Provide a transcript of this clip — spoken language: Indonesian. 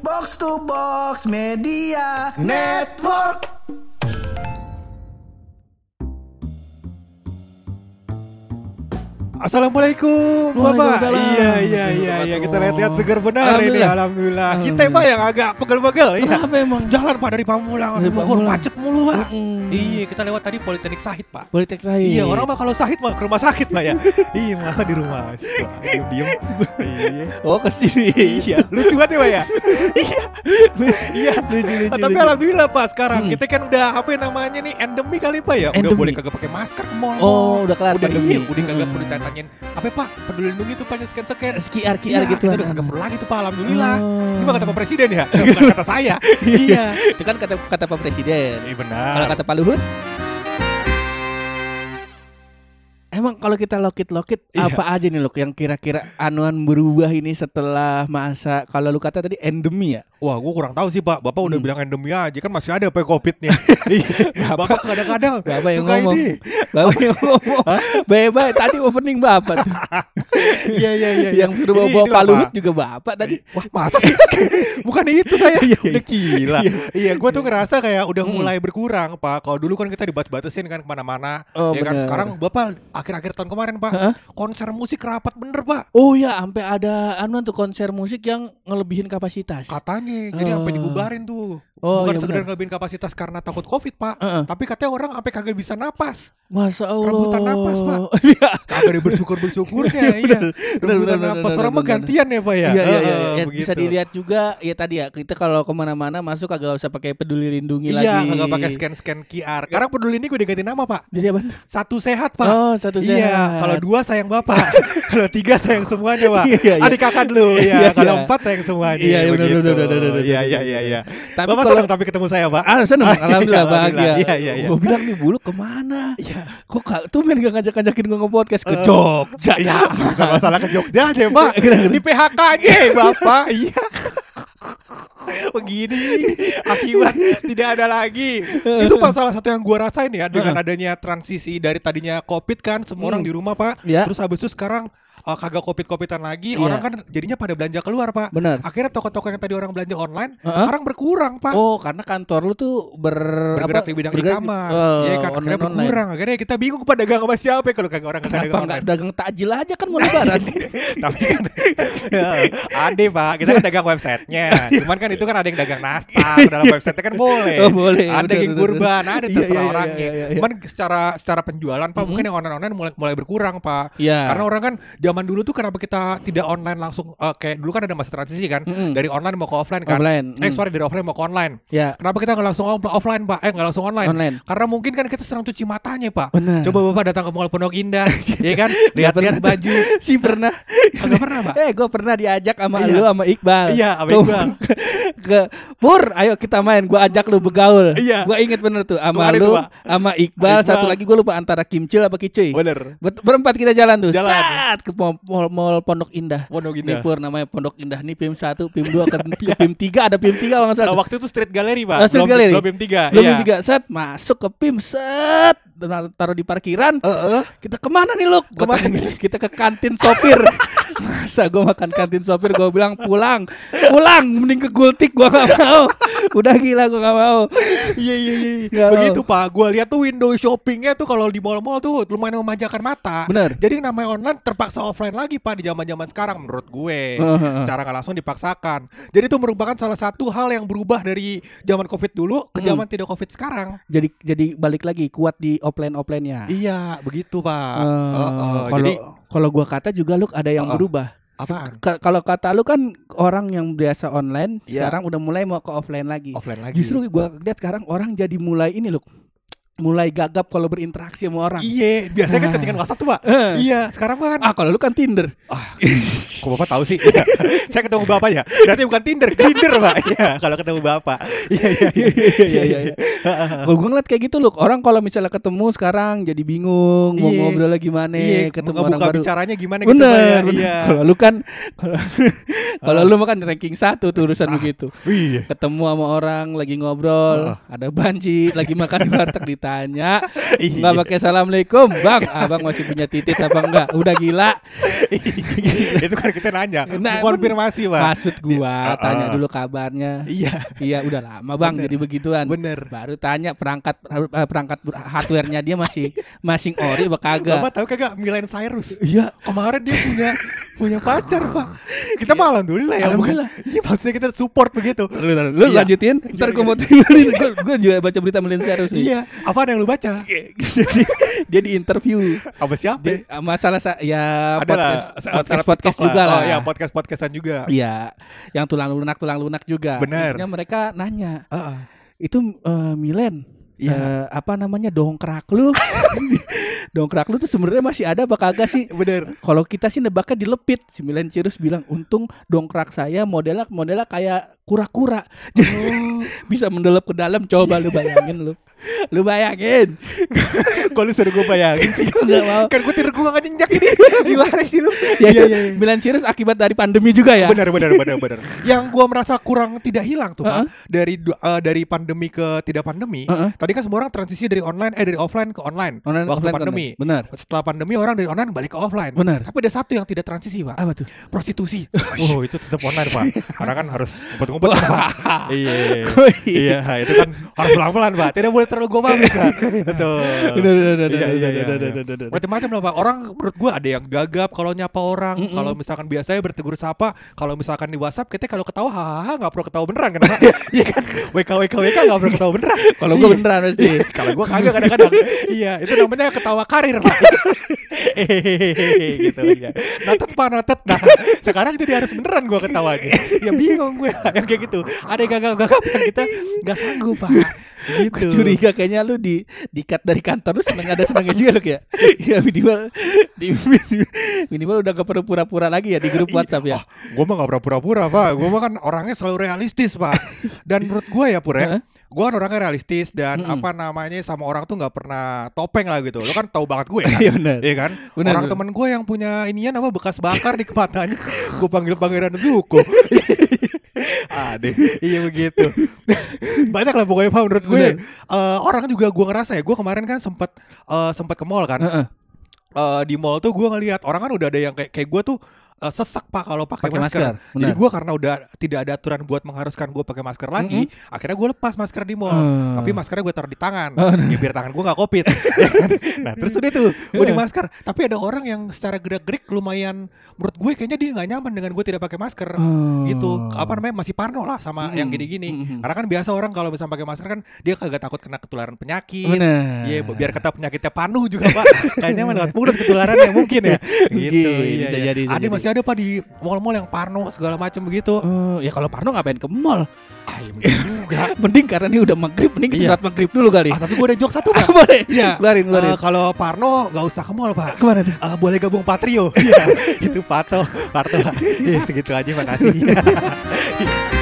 Box to Box Media Network. Assalamualaikum Bapak. Iya. Kita lihat segar benar ini. Alhamdulillah. Kita Pak yang agak pegel-pegel. Kenapa emang? Jalan Pak dari Pamulang ke Bogor macet mulu Pak. Iya, kita lewat tadi Politeknik Sahid Pak. Politek Sahid. Iya, orang mah kalau Sahid mah ke rumah sakit Pak ya. Iya, masa di rumah. Diem. Iya. Oh, kesini. Iya, lucu banget ya Pak ya. Iya. Lucu. Tapi alhamdulillah Pak sekarang kita kan udah apa namanya nih endemi kali Pak ya. Udah boleh kagak pakai masker ke mall. Oh, udah kelar pandemi. Udah kagak perlu ditanyain apa Pak, peduli lindungi tuh Pak scan QR iya, gitu. Kita udah kagak perlu lagi tuh Pak, alhamdulillah. Oh. Ini mah kata Pak Presiden ya, bukan kata saya. Iya. Itu kan kata Pak Presiden. Iya benar. Kalau kata Pak Luhut? Emang kalau kita lokit apa aja nih Luk yang kira-kira anuan berubah ini setelah masa kalau lu kata tadi endemi ya? Wah, gua kurang tahu sih Pak. Bapak udah bilang endemi aja kan masih ada Pak Covid-nya. Bapak kadang-kadang Bapak yang suka ngomong. ini. Bapak yang ngomong. Baik tadi opening Bapak tuh. Iya. Yang suruh bawa Pak Luhut juga Bapak tadi. Wah, masa sih? Bukan itu saya. Iya. Udah gila. Iya, gua tuh ngerasa kayak udah mulai berkurang Pak. Kalau dulu kan kita dibat-batasin kan kemana-mana. Oh, ya kan bener. sekarang Bapak akhir-akhir tahun kemarin Pak, konser musik rapat bener Pak. Oh ya, sampai ada anuan tuh konser musik yang ngelebihin kapasitas. Katanya, jadi sampai dibubarin tuh. Oh, Bukan iya sekedar benar. ngelebihin kapasitas karena takut Covid Pak, tapi katanya orang sampai kagak bisa napas. Masa Allah. Rebutan napas Pak. Iya. Kagak ada bersyukurnya. Iya. Rebutan napas orang mah gantian ya Pak ya. Iya. Ya, begitu. bisa dilihat juga ya tadi ya kita kalau kemana-mana masuk kagak usah pakai peduli lindungi lagi. Iya, kagak pakai scan QR. Sekarang peduli ini gue diganti nama Pak. Jadi apa? Satu sehat Pak. Oh, satu sehat. Iya, kalau 2 sayang Bapak. Kalau 3 sayang semuanya Pak. Iya. Adik kakak dulu. Iya. Iya, kalau 4 sayang semuanya. Iya, begitu. benar. Iya. Tapi Bapak kalau senang tapi ketemu saya Pak. seneng, alhamdulillah bahagia. Iya. Gue bilang nih Bulu kemana? Iya. Kok tuh men gak ngajak-ngajakin gue nge-podcast ke Jogja? Ya, bukan masalah ke Jogja aja Pak. Di PHK aja Bapak. Iya. Begini akibat tidak ada lagi. Itu Pak salah satu yang gua rasain ya dengan adanya transisi dari tadinya Covid kan semua orang di rumah Pak. Ya. Terus habis itu sekarang kagak Covidan lagi, Iya. orang kan jadinya pada belanja keluar Pak. Benar. Akhirnya toko-toko yang tadi orang belanja online sekarang berkurang Pak. Oh, karena kantor lu tuh Bergerak di bidang e-commerce. Iya kan, akhirnya berkurang. Akhirnya kita bingung Pak dagang sama siapa kalau kagak orang kagak dagang Kenapa nggak online. dagang takjil aja kan mau lebaran? Tapi kan ada Pak, kita kan dagang websitenya. Cuman kan itu kan ada yang dagang nastar dalam websitenya kan boleh. Oh, boleh. Ada daging kurban, ada terserah Iya, orangnya. iya. Cuman secara penjualan Pak mungkin yang online mulai berkurang Pak. Iya. Karena orang kan zaman dulu tuh kenapa kita tidak online langsung kayak dulu kan ada masa transisi kan dari online mau ke offline kan. Dari offline mau ke online. Ya. Kenapa kita nggak langsung offline Pak? Nggak langsung online. Karena mungkin kan kita sering cuci matanya Pak. Benar. Coba Bapak datang ke Mall Pondok Indah, ya kan? Lihat-lihat baju. Si pernah. Kagak pernah Pak? Gue pernah diajak sama lu sama Iqbal. Iya, sama Iqbal. Ke Pur, ayo kita main. Gue ajak lu begaul. Iya. Gue inget bener tuh sama Kemarin lu, tuh, Pak. sama Iqbal. Satu lagi gue lupa antara Kimcil apa Kicuy. Bener. Berempat kita jalan tuh. Jalan. Saat ke mall Pondok Indah. Nih Pur namanya Pondok Indah. Nih PIM 1, PIM 2 ke PIM 3. Ada PIM 3 kalau nggak salah. Waktu itu Street Gallery Pak. Street Gallery. Belum PIM 3. Belum PIM 3. Set masuk ke PIM set. Taruh di parkiran. Kita kemana nih Luk? Kemana? Kita ke kantin sopir. Masa gue makan kantin sopir, gue bilang pulang mending ke Gultik, gue gak mau. Udah gila gue gak mau. Iya. Begitu Pak, gue lihat tuh window shoppingnya tuh kalau di mall-mall tuh lumayan memanjakan mata. Bener. Jadi namanya online terpaksa offline lagi Pak di zaman-zaman sekarang menurut gue. Secara nggak langsung dipaksakan. Jadi itu merupakan salah satu hal yang berubah dari zaman Covid dulu ke zaman tidak Covid sekarang. Jadi balik lagi kuat di offline-nya. Iya, begitu Pak. Kalau gua kata juga Luk ada yang berubah. Apaan? Kalau kata lu kan orang yang biasa online sekarang udah mulai mau ke offline lagi. Justru gua lihat sekarang orang jadi mulai ini Luk. Mulai gagap kalau berinteraksi sama orang. Iya, biasanya kan chattingan WhatsApp tuh Pak. Iya, sekarang kan. Kalau lu kan Tinder. Kok Bapak tahu sih? Saya ketemu Bapak ya. Berarti bukan Tinder Pak. Iya, kalau ketemu Bapak. Iya. Gue ngeliat kayak gitu loh. Orang kalau misalnya ketemu sekarang jadi bingung mau ngobrol lagi gimana, ketemu orang baru. Bicaranya gimana gitu. Bener. Kalau lu kan kalau lu makan ranking 1 tuh urusan begitu. Ketemu sama orang lagi ngobrol, ada banci lagi makan di warteg ditanya, nggak pakai assalamualaikum, bang, abang masih punya titik apa enggak? Udah gila. Itu kan kita nanya, konfirmasi Pak. Maksud gua tanya dulu kabarnya. Iya udah lama bang jadi begituan. Bener. Baru tanya perangkat hardware-nya dia masing ori apa kagak. Bapak tahu kagak Miley Cyrus? Iya, kemarin dia punya pacar Pak. Kita malah alhamdulillah ya. Iya maksudnya kita support begitu. Lu lanjutin. Ntar gue mau tinggalin. Gue juga baca berita Miley Cyrus nih. Iya. Apa yang lu baca? Dia di interview. Apa siapa? Masalah ya podcast juga lah. Oh ya podcastan juga. Iya. Yang tulang lunak juga. Bener. Intinya mereka nanya. Itu Milen. Apa namanya dongkrak lu? Dongkrak lu tuh sebenarnya masih ada apa kagak sih? Bener. Kalau kita sih nebaknya dilepit. Si Miley Cyrus bilang untung dongkrak saya modelnya kayak kura-kura. Bisa mendelep ke dalam. Coba lu bayangin lu. Lu bayangin. Kalau suruh gue bayangin sih enggak mau. Kan gue tidur gue gak nyenyak ini. Gimana sih lu? Iya. Miley Cyrus akibat dari pandemi juga ya. Benar. Yang gue merasa kurang tidak hilang tuh Pak. Dari pandemi ke tidak pandemi. Tadi kan semua orang transisi dari offline ke online waktu pandemi. Benar. Setelah pandemi orang dari online balik ke offline. Benar. Tapi ada satu yang tidak transisi Pak. Apa tuh? Prostitusi. Oh itu tetap online Pak. Karena kan harus ngumpet-ngumpet Pak. Iya. Itu kan harus pelan-pelan Pak. Tidak boleh terlalu gomang Pak. Betul. Iya. Macam-macam lah Pak. Orang menurut gue ada yang gagap kalau nyapa orang. Kalau misalkan biasanya bertegur sapa. Kalau misalkan di WhatsApp kita kalau ketawa hahaha nggak perlu ketawa beneran kan Pak. Iya kan. WK nggak perlu ketawa beneran. Kalau gue beneran pasti. Kalau gue kagak kadang-kadang. Iya itu namanya ketawa karir Pak. Gitu ya. Notet. Nah sekarang jadi harus beneran gue ketawanya. Ya bingung gue yang kayak gitu. Ada yang gagap yang kita nggak sanggup Pak. Gitu. Curiga kayaknya lu di cut dari kantor lu senengnya juga lu ya. Ya minimal udah gak perlu pura-pura lagi ya di grup WhatsApp ya. Gue mah gak pura-pura Pak. Gue mah kan orangnya selalu realistis Pak. Dan menurut gue ya Pur ya, gue kan orangnya realistis dan apa namanya sama orang tuh gak pernah topeng lah gitu. Lo kan tahu banget gue kan. Iya kan. Orang temen gue yang punya inian apa bekas bakar di matanya. Gue panggil Pangeran Zuko. Iya begitu. Banyak lah pokoknya Pak menurut gue. Orang juga gue ngerasa ya. Gue kemarin kan sempat ke mall kan. Di mall tuh gue ngelihat orang kan udah ada yang kayak gue tuh sesak Pak kalau pakai masker. Jadi gue karena udah tidak ada aturan buat mengharuskan gue pakai masker lagi, akhirnya gue lepas masker di mall. Tapi maskernya gue taruh di tangan, ya biar tangan gue nggak covid. Nah terus udah tuh gue di masker. Tapi ada orang yang secara gerak-gerik lumayan, menurut gue kayaknya dia nggak nyaman dengan gue tidak pakai masker. Gitu, apa namanya masih parno lah sama yang gini-gini. Karena kan biasa orang kalau misalnya pakai masker kan dia kagak takut kena ketularan penyakit. Iya, biar kata penyakitnya panuh juga Pak. Kayaknya lewat mulut ketularannya mungkin ya. Gitu. Bisa jadi. Ada Pak di mall-mall yang parno segala macam begitu. Ya kalau parno ngapain ke mall? Juga. Mending karena ini udah maghrib, mending kita sholat maghrib dulu kali. Tapi gue ada jokes satu Pak. Boleh. Iya. Keluarin. Kalau parno gak usah ke mall Pak. Kemana tuh? Boleh gabung Patrio. Iya. Itu Parto. Iya segitu aja makasih.